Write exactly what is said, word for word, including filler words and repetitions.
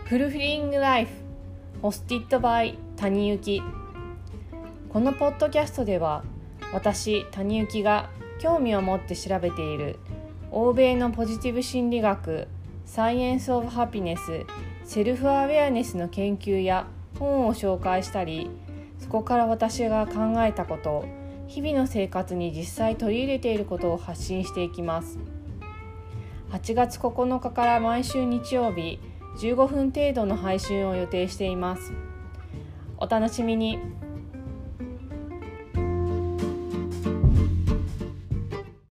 フルフィリングライフホスティッドバイ谷幸。このポッドキャストでは私谷幸が興味を持って調べている欧米のポジティブ心理学、サイエンスオブハピネス、セルフアウェアネスの研究や本を紹介したり、そこから私が考えたこと、日々の生活に実際取り入れていることを発信していきます。はちがつここのかから毎週日曜日じゅうごふん程度の配信を予定しています。お楽しみに。